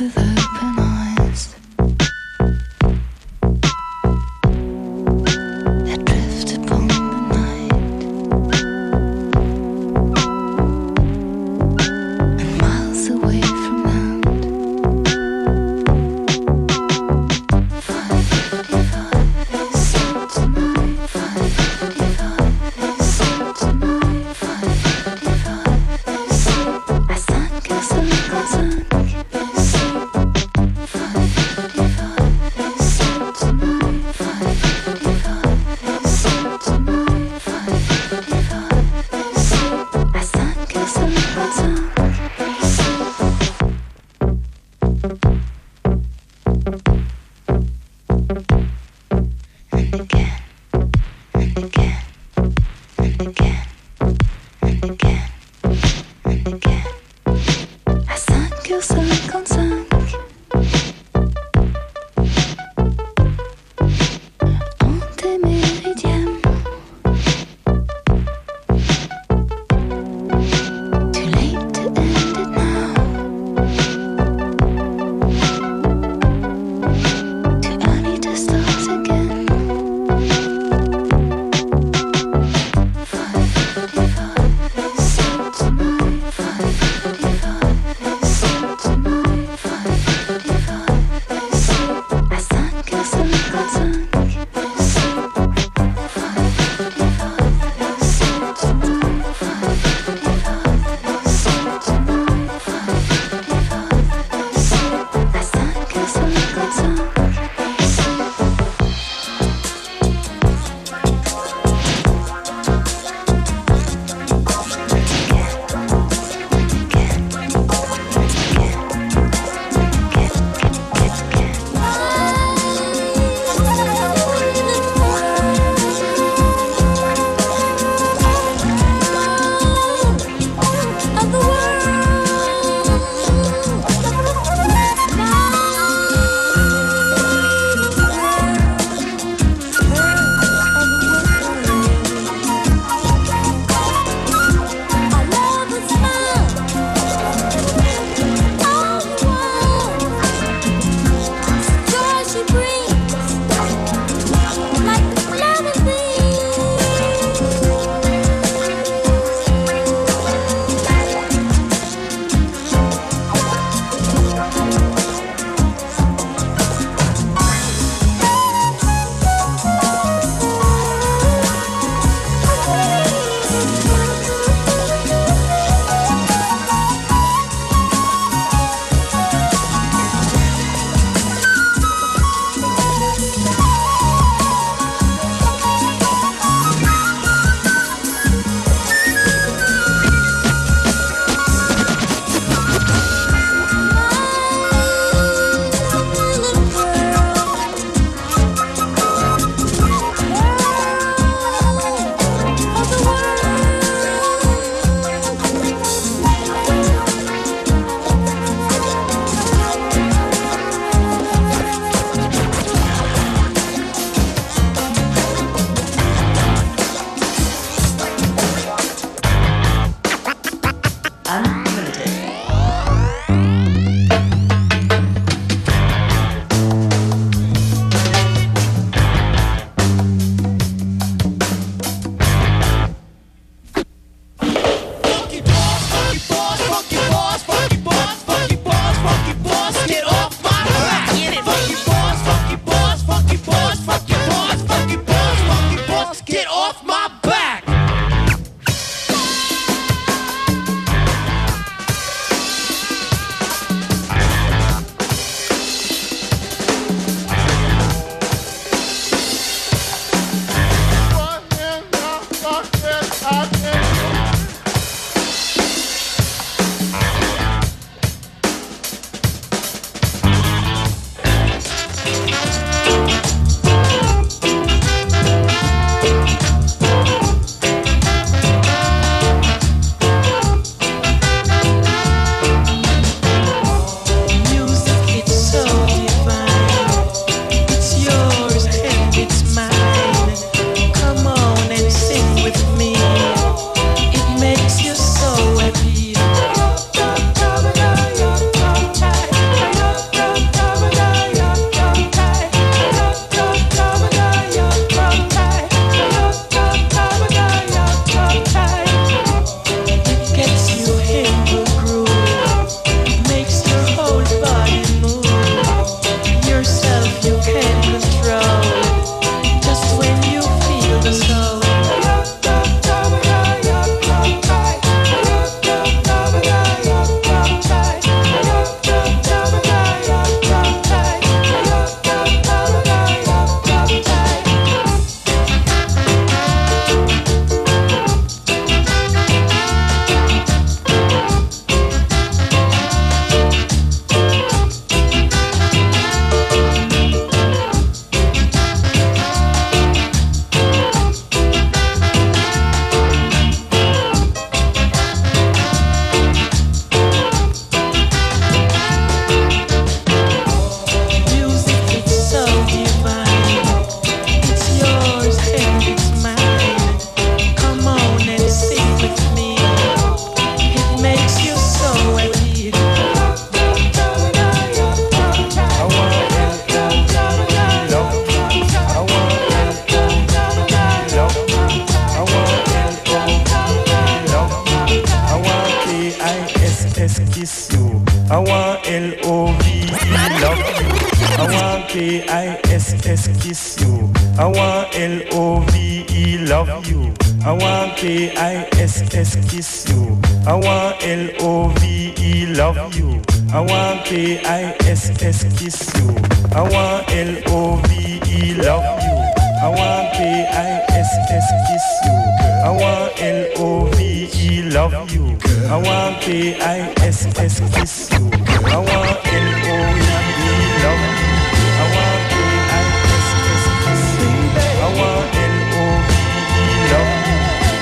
Too late to K-I-S-S kiss you. I want L-O-V-E love you. I want K-I-S-S kiss you. I want L-O-V-E love you. I want K-I-S-S kiss you. I want L-O-V-E love you. I want K-I-S-S kiss you. I want L-O-V-E love you. I want K-I-S-S kiss you. I want L-O-V-E love you. I want K-I-S-S kiss you. I want L-O-V-E love you. I want K-I-S-S kiss you. I want L-O-V-E love you.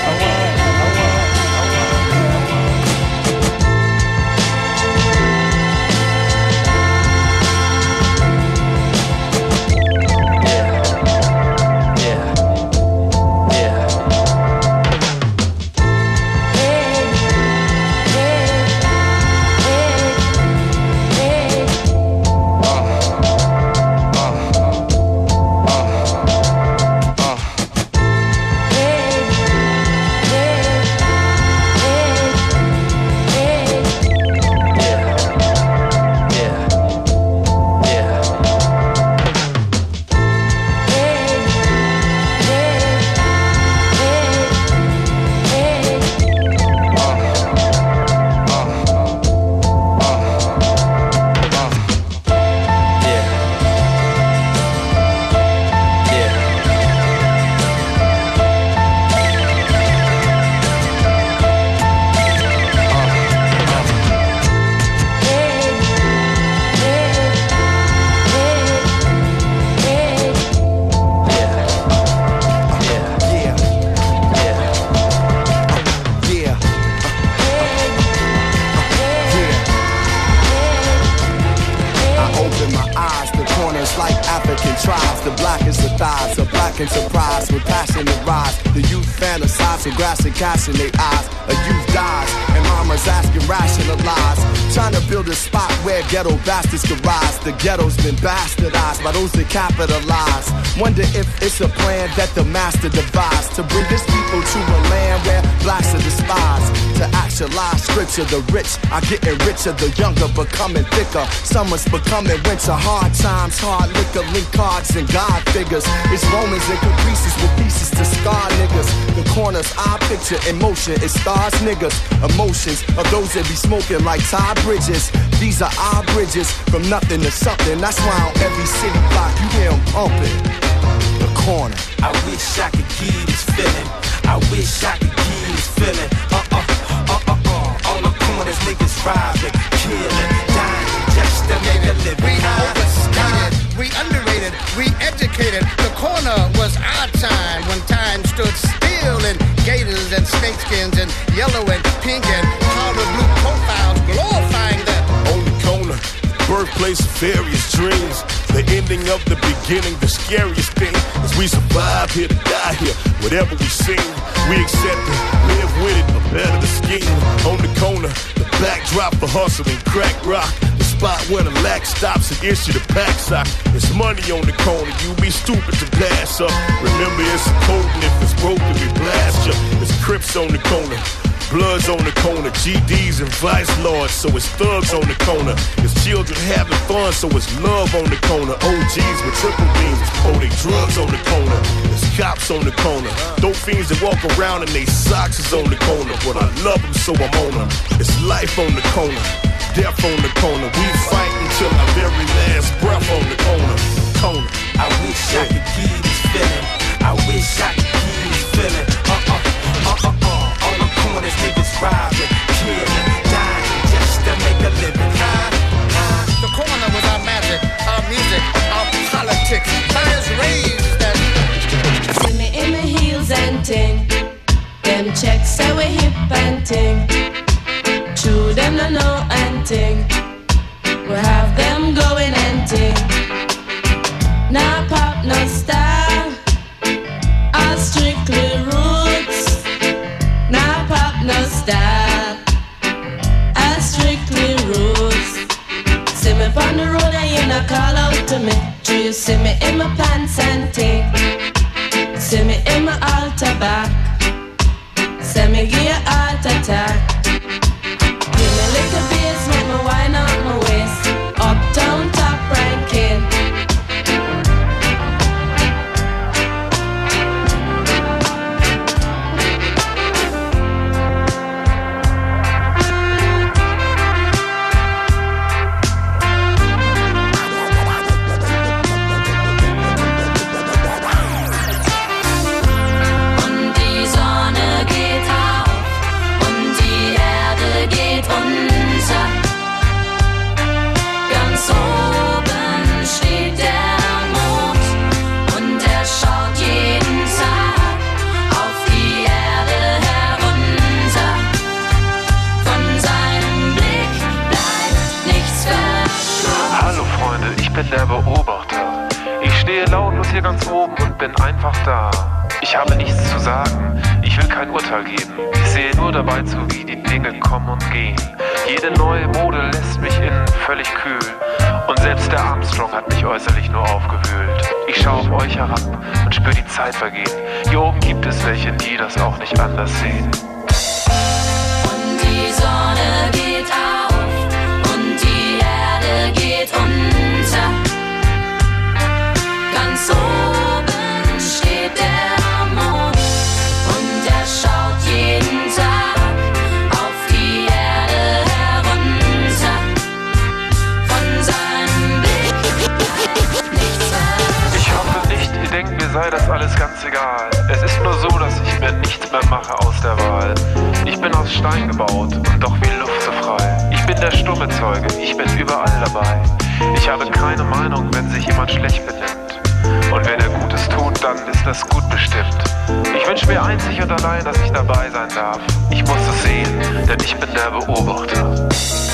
Cash in their eyes, a youth dies, and mama's asking rationalize. Trying to build a spot where ghetto bastards can rise. The ghetto's been bastardized by those that capitalize. Wonder if it's a plan that the master devised to bring this people to a land where blacks are despised. To actualize scripture, the rich are getting richer, the younger becoming thicker. Summer's becoming winter, hard times, hard liquor, link cards and God figures. It's Romans and caprices with pieces to scar niggas. The corners I picture in motion, it stars niggas. Emotions of those that be smoking like Todd Bridges. These are our bridges from nothing to something. That's why on every city block you hear them pumping. The corner. I wish I could give this feeling. I wish I could give this feeling. On the corners, niggas robbing, killing, dying, just to make a living. We overstated, we underrated, we educated. The corner was our time when time stood still in gators and snakeskins and yellow and pink and powder blue profiles glorifying that. On the corner, birthplace of various dreams. The ending of the beginning, the scariest thing is we survive here to die here. Whatever we sing, we accept it, live with it, but better the scheme. On the corner, the backdrop for hustling, crack rock. The spot where the lack stops and issue the pack sock. It's money on the corner, you be stupid to pass up. Remember it's a code and if it's broken we blast you. It's Crips on the corner, Bloods on the corner, GDs and Vice Lords, so it's thugs on the corner. It's children having fun, so it's love on the corner. OGs with triple beams, oh they drugs on the corner. It's cops on the corner, dope fiends that walk around and they socks is on the corner. But I love them, so I'm on them. It's life on the corner, death on the corner. We fight until our very last breath on the corner. I wish I could give this feeling. I wish I could give this feeling. On the corners, niggas robbing, killing, dying, just to make a living. The corner was our magic, our music, our politics. Players raised that. See me in my heels and ting. Them checks say we hip and ting. True, them no know and ting. We have them going and ting. Nah pop, no style. All strictly roots. Nah pop, no style. All strictly roots. See me on the road and you not call out to me. Do you see me in my pants and ting? See me in my altar back. Say me give you heart attack. Give me a little hier ganz oben und bin einfach da. Ich habe nichts zu sagen, ich will kein Urteil geben. Ich sehe nur dabei zu, wie die Dinge kommen und gehen. Jede neue Mode lässt mich innen völlig kühl. Und selbst der Armstrong hat mich äußerlich nur aufgewühlt. Ich schaue auf euch herab und spüre die Zeit vergehen. Hier oben gibt es welche, die das auch nicht anders sehen. Und die Sonne geht auf und die Erde geht unter. Ganz oben steht der Mond und er schaut jeden Tag auf die Erde herunter. Von seinem Blick nichts mehr. Ich hoffe nicht, ihr denkt, mir sei das alles ganz egal. Es ist nur so, dass ich mir nichts mehr mache aus der Wahl. Ich bin aus Stein gebaut und doch wie Luft so frei. Ich bin der stumme Zeuge, ich bin überall dabei. Ich habe keine Meinung, wenn sich jemand schlecht benimmt. Und wenn er Gutes tut, dann ist das gut bestimmt. Ich wünsche mir einzig und allein, dass ich dabei sein darf. Ich muss es sehen, denn ich bin der Beobachter.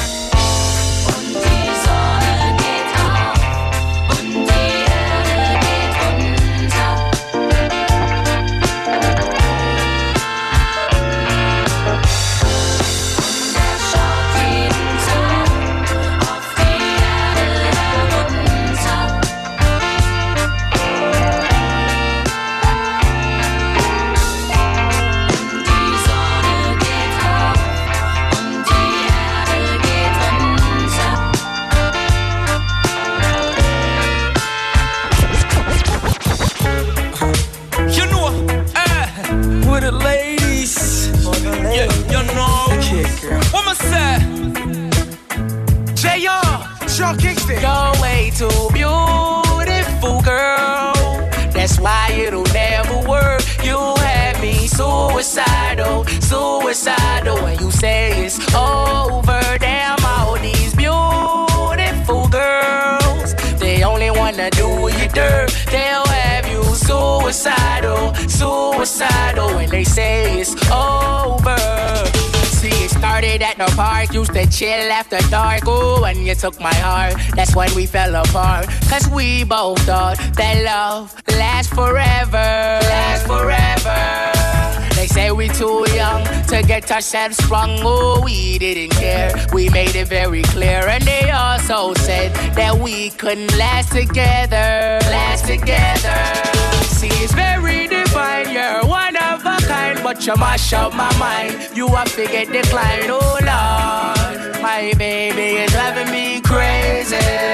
You're way too beautiful, girl. That's why it'll never work. You have me suicidal, suicidal. When you say it's over, damn all these beautiful girls, they only wanna do you dirt. They'll have you suicidal, suicidal. When they say it's over. See, it started at the park, used to chill after dark. Ooh, when you took my heart, that's when we fell apart. Cause we both thought that love lasts forever, lasts forever. They say we too young to get ourselves sprung. Oh, we didn't care, we made it very clear. And they also said that we couldn't last together, last together. See, it's very divine, you're one of a kind, but you mash up my mind, you a figure decline. Oh Lord, my baby is driving me crazy.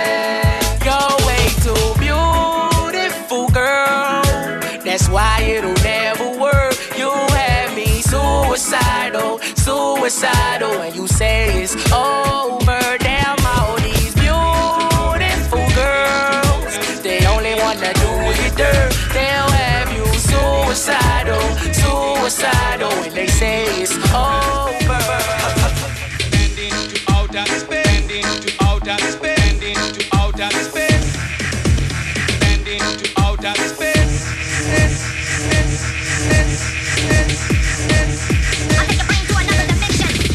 You're way too beautiful, girl. That's why it'll never work. You have me suicidal, suicidal. When you say it's over, damn all these beautiful girls, they only wanna do you dirt. They'll have you suicidal, suicidal. When they say it's over. Spending to outer space, spending to outer space, spending to outer space, spending to outer space. I'll take your brain to another dimension.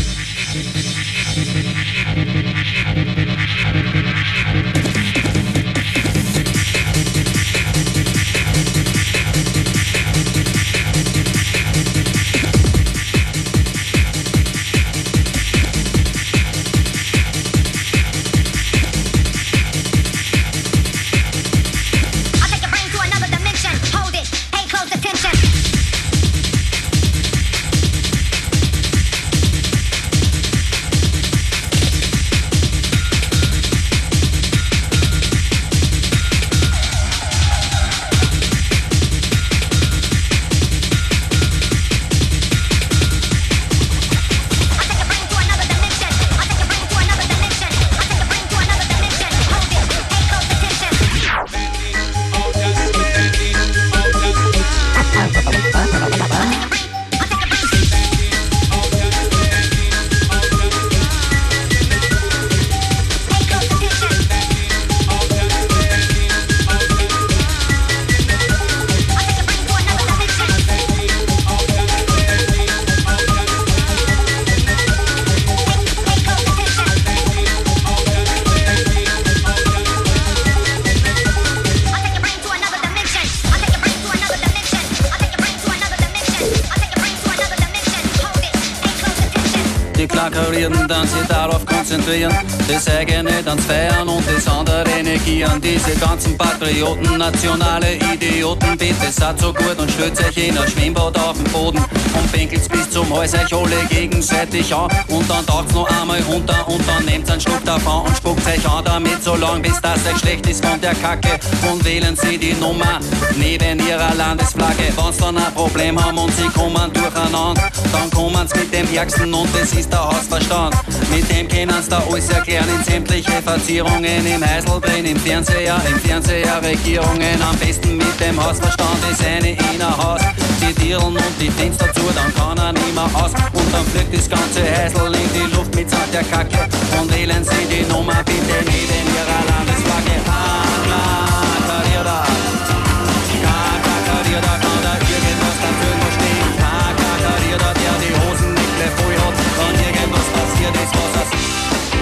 Karrieren, dann sich darauf konzentrieren, das eigene dann feiern und das andere negieren. Diese ganzen Patrioten, nationale Idioten, bitte seid so gut und stellt euch in ein Schwimmbad auf den Boden und pinkelt's bis zum Hals euch alle gegenseitig an und dann taucht's noch einmal runter und dann nehmt's einen Schluck davon und spuckt euch an damit so lang, bis das euch schlecht ist von der Kacke und wählen sie die Nummer neben ihrer Landesflagge. Wenn's dann ein Problem haben und sie kommen durcheinander, dann kommen's mit dem Ärgsten und das ist der Hausverstand. Mit dem können's da alles erklären in sämtliche Verzierungen, im Heisel drin, im Fernseher Regierungen. Am besten mit dem Hausverstand ist eine in ein Haus, die Dirlen und die Fenster zu, dann kann er nicht mehr aus und dann fliegt das ganze Heisel in die Luft mitsamt der Kacke und wählen sie die Nummer bitte neben ihrer Landesflagge. Karriere, Karriere, kann da irgendwas dafür noch stehen? Karriere, der die Hosen nicht gleich voll hat, wenn irgendwas passiert ist, was er sieht.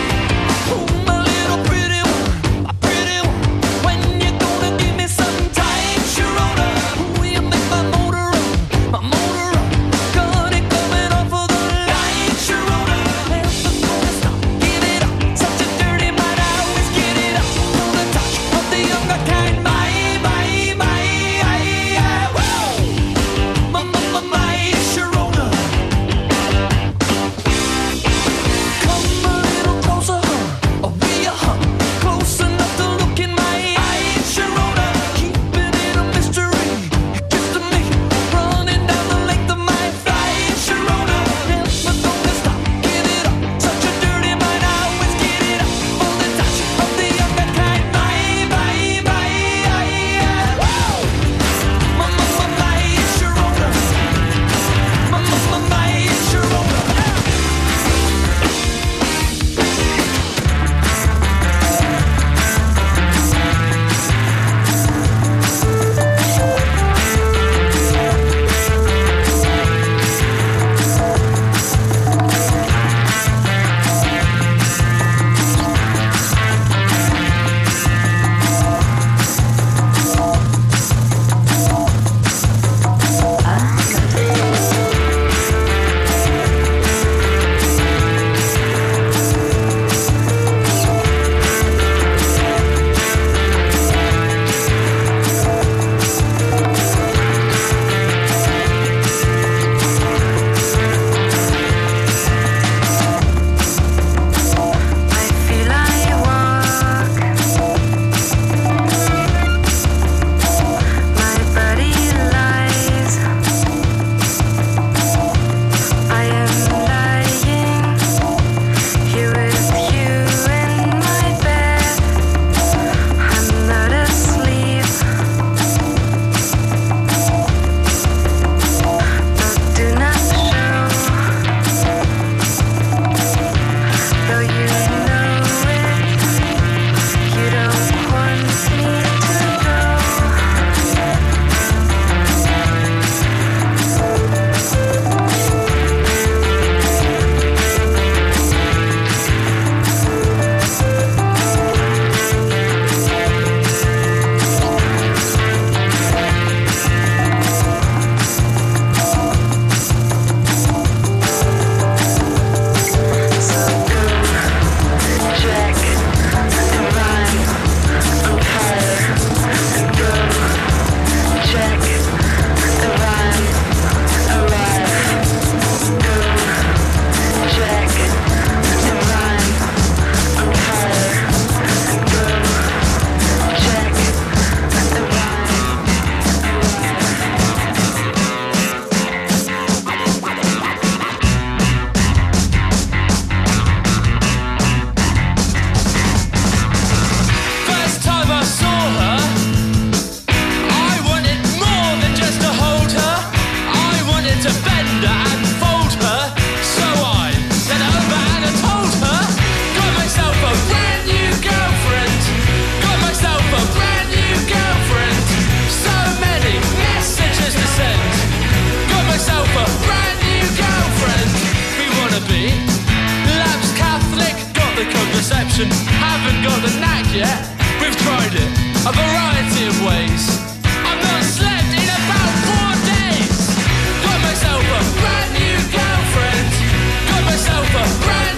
perception, haven't got the knack yet. We've tried it a variety of ways. I've not slept in about 4 days. Got myself a brand new girlfriend. Got myself a brand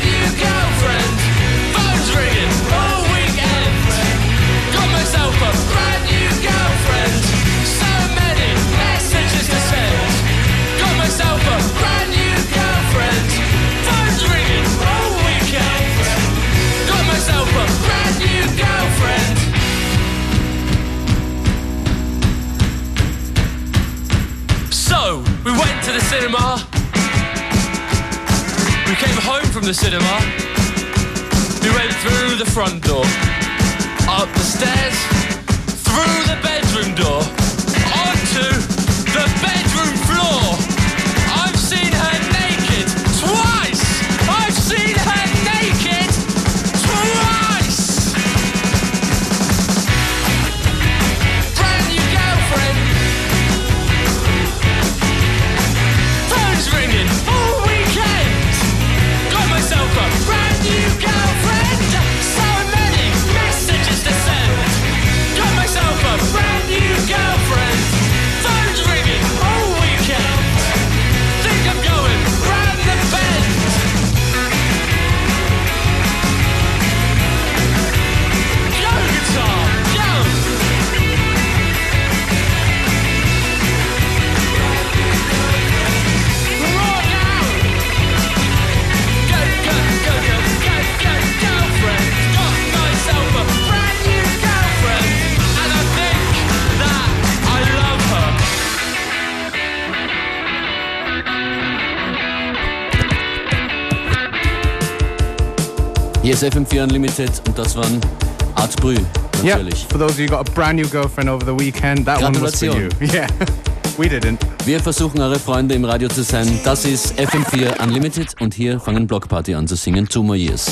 cinema. We came home from the cinema. We went through the front door, up the stairs, through the bedroom door, onto the bedroom floor. I've seen her naked twice. I've seen her naked twice. Brand new girlfriend. Phone's ringing all weekend. Got myself a brand new girlfriend. So many messages to send. Got myself a brand new girlfriend. Phone's ringing all weekend. Think I'm going round the bend. Go guitar, go. Roar now. Go, go, go, go, go, go, girlfriend. Got myself a brand new girlfriend. And I think that I love her. Hier ist FM4 Unlimited und das waren Art Brü, Yeah, natürlich. for those of you who got a brand new girlfriend over the weekend, that one was for you. Gratulation. Yeah, we didn't. Wir versuchen, eure Freunde im Radio zu sein. Das ist FM4 Unlimited und hier fangen Blockparty an zu singen. 2 More Years.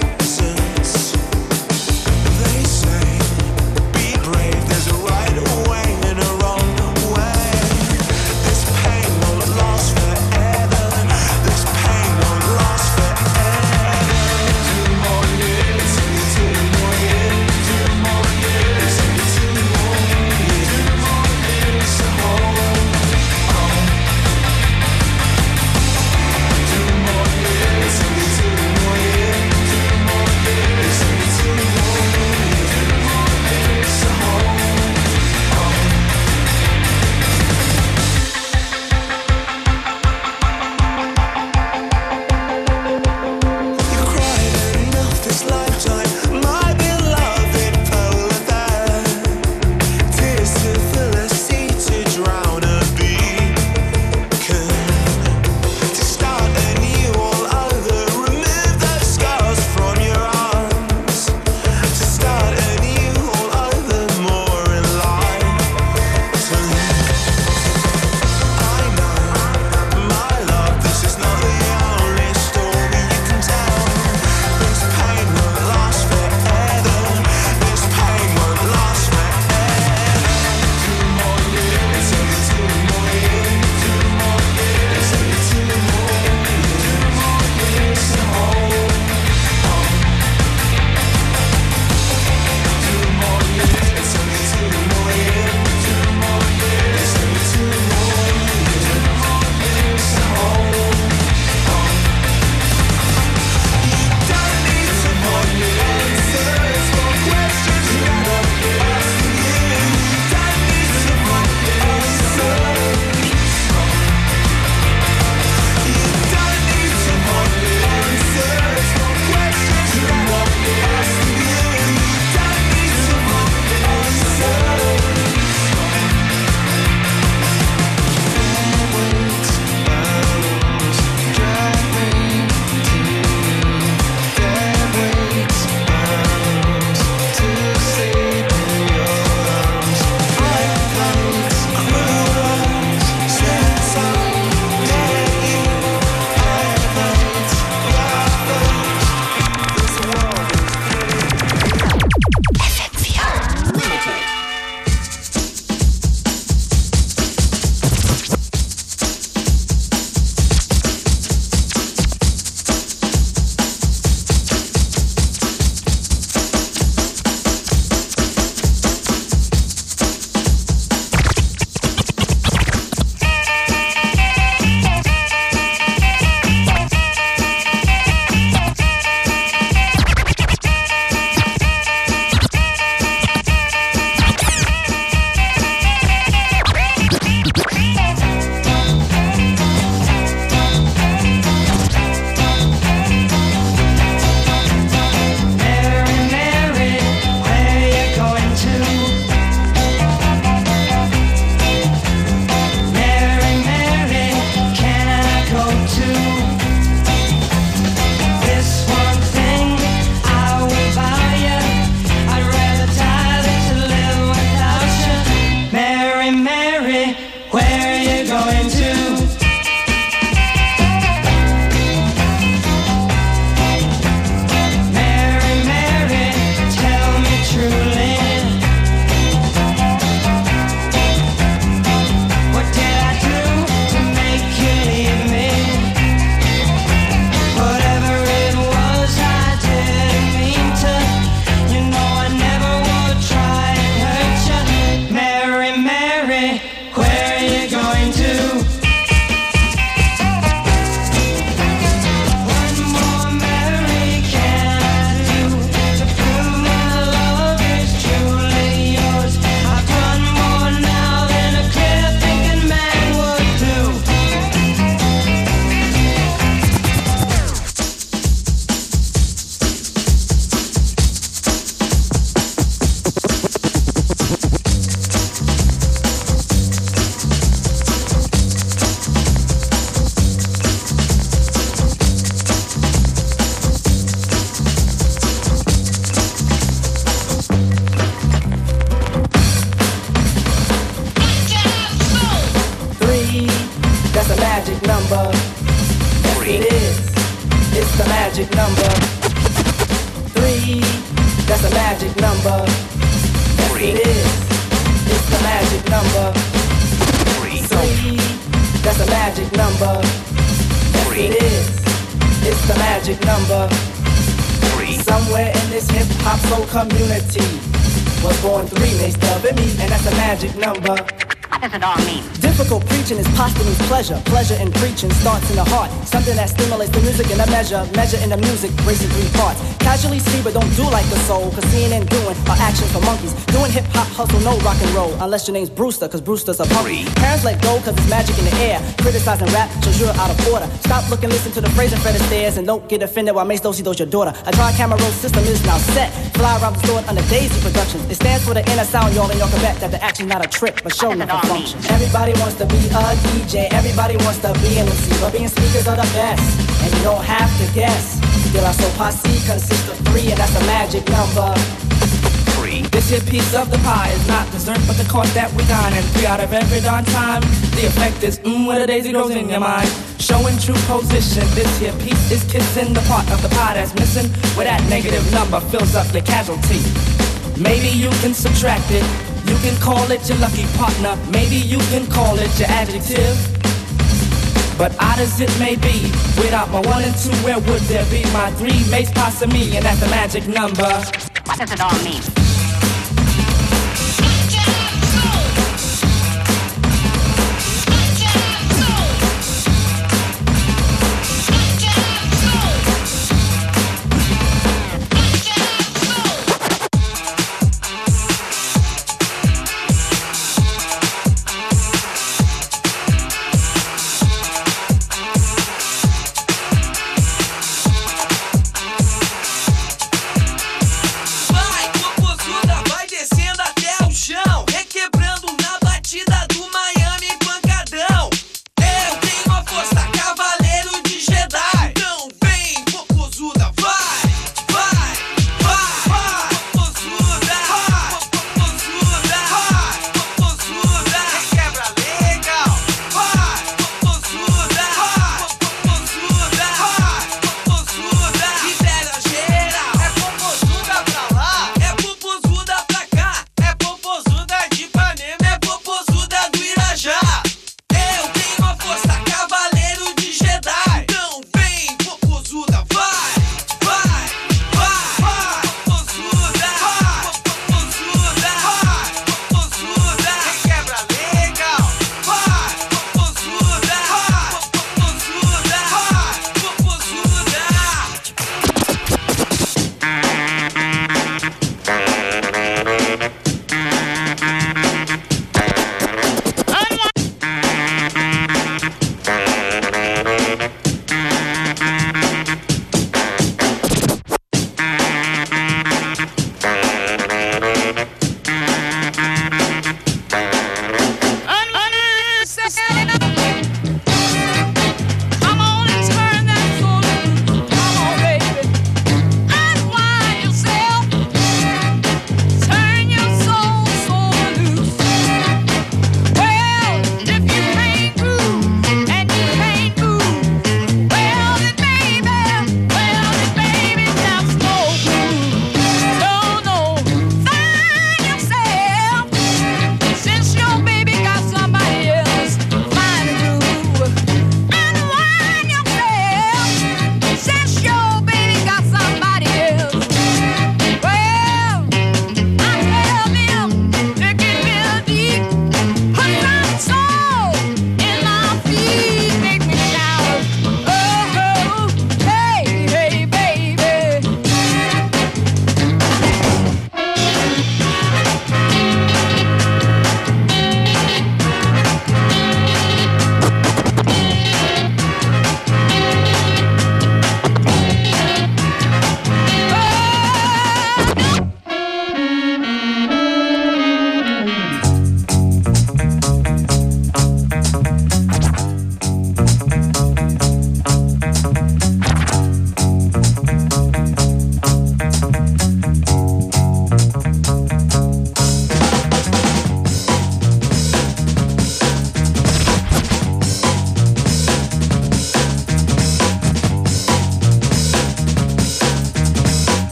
There's a right or magic number. 3, that's a magic number. Yes, it is. It's the magic number. 3, that's a magic number. Yes, it is. It's the magic number. Somewhere in this hip-hop soul community was born 3 Mace Dub and me, and that's a magic number. What does it all mean? Difficult preaching is posthumous pleasure. Pleasure in preaching starts in the heart. Something that stimulates the music in a measure. Measure in the music breaks in 3 parts. Casually see but don't do like the soul. Cause seeing and doing are actions for monkeys. Doing hip-hop hustle, no rock and roll. Unless your name's Brewster, cause Brewster's a punk. Parents let go cause it's magic in the air. Criticizing rap shows you're out of order. Stop looking, listen to the phrase and Fred Astaire. And don't get offended while Mace Dosey does your daughter. A dry camera roll system is now set. Fly around the store under Daisy Productions. It stands for the inner sound, y'all, and y'all can bet that the action's not a trick, but show nothing function. Everybody wants to be a DJ, everybody wants to be an MC, but being speakers are the best, and you don't have to guess. De La Soul Posse consists of 3, and that's a magic number. 3. This here piece of the pie is not dessert, but the course that we dine. And 3 out of every darn time, the effect is when a daisy grows in your mind. Showing true position, this here piece is kissing the part of the pie that's missing, where that negative number fills up your casualty. Maybe you can subtract it. You can call it your lucky partner. Maybe you can call it your adjective. But odd as it may be, without my 1 and 2, where would there be my 3 Mace Posse me? And that's the magic number. What does it all mean? What was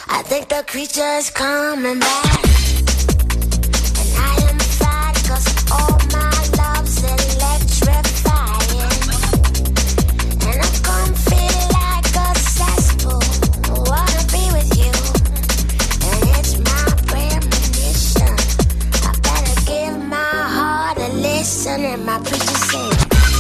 I think the creature is coming back. And I am sad cause all my love's electrifying. And I come feel like a cesspool. I wanna be with you. And it's my premonition. I better give my heart a listen. And my preacher said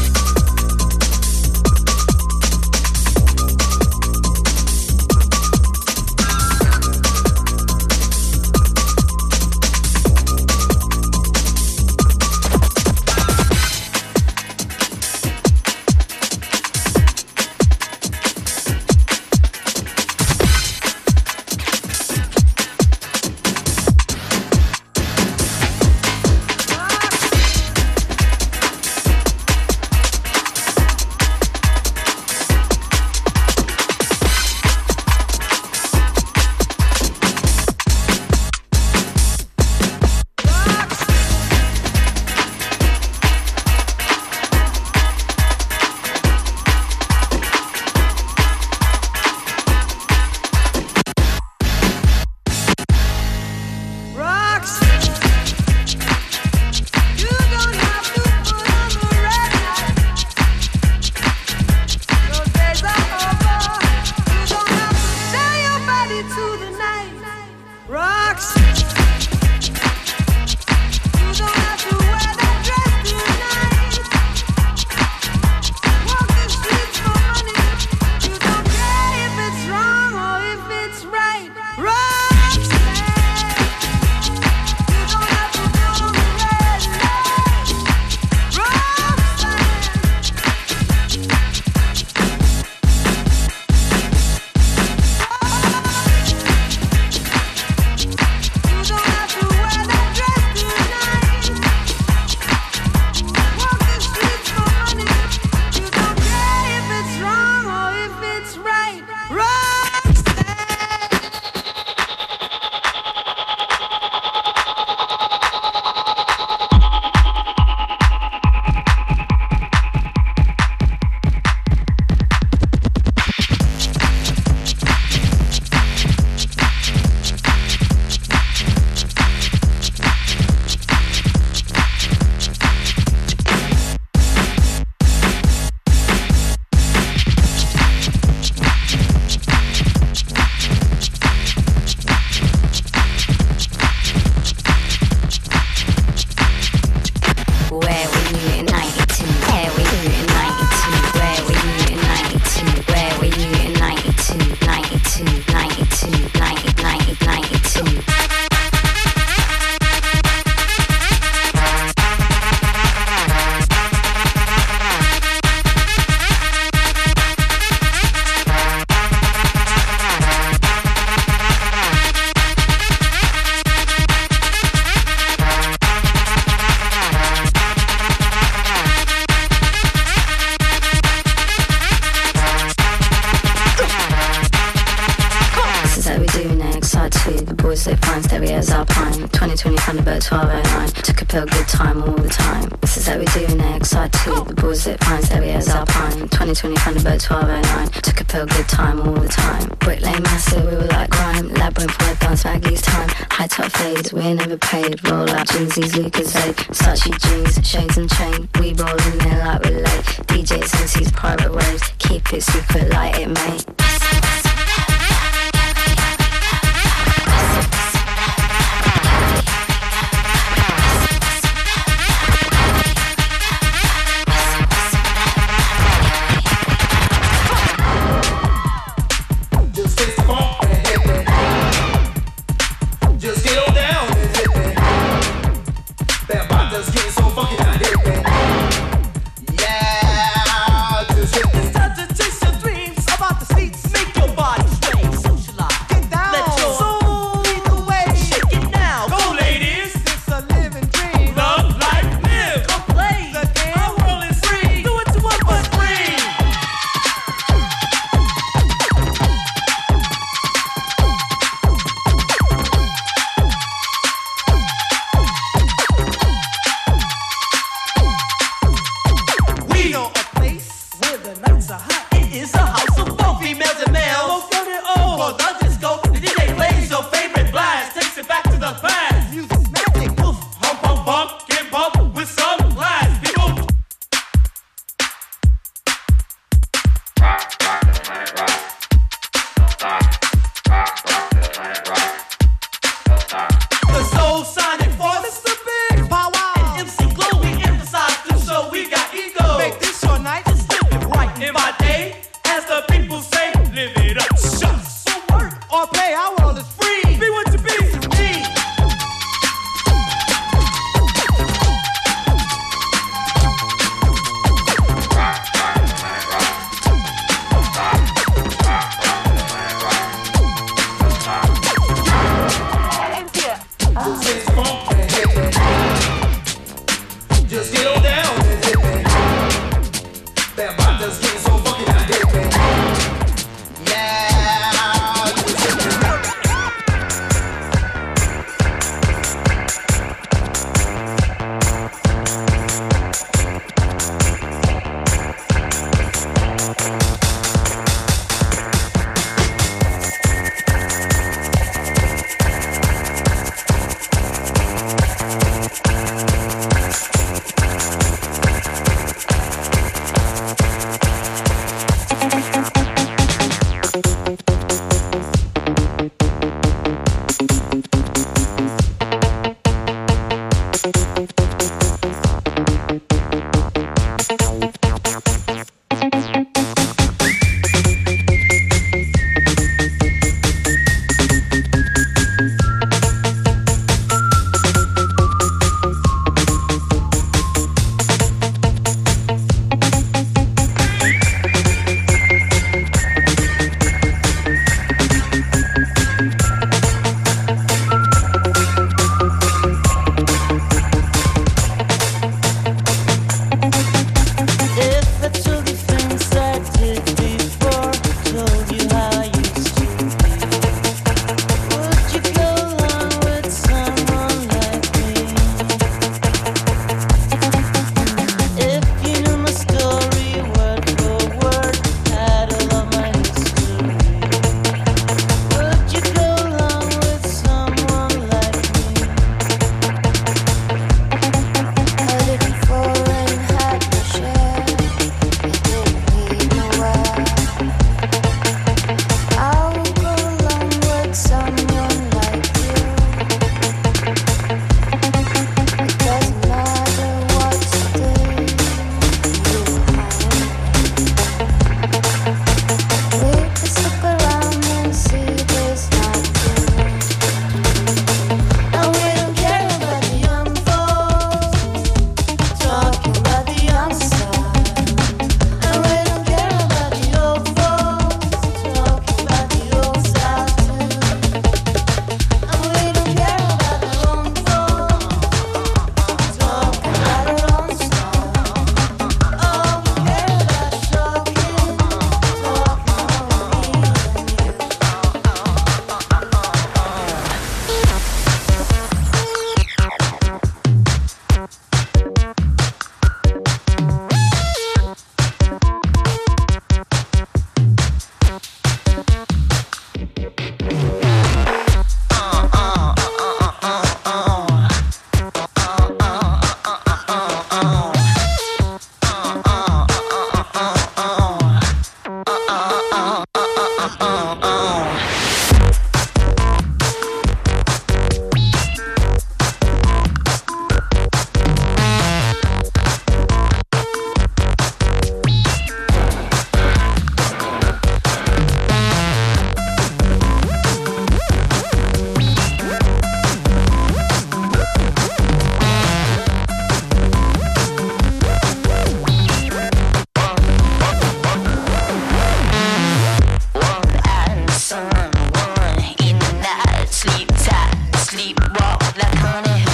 stereos Alpine 2020 Thunderbird 1209. Took a pill, good time all the time. This is how we do in XR2. The boys that find stereos Alpine 2020 Thunderbird 1209. Took a pill, good time all the time. Brick Lane massive, we were like grime. Labyrinth word dance baggies time. High top fades, we're never paid. Roll out jeansies, Lucasade. Sachi jeans, shades and chain. We roll in there like we're late. DJs MCs, private waves. Keep it secret, light it, mate. Seats. Sleep tight, sleep walk like honey.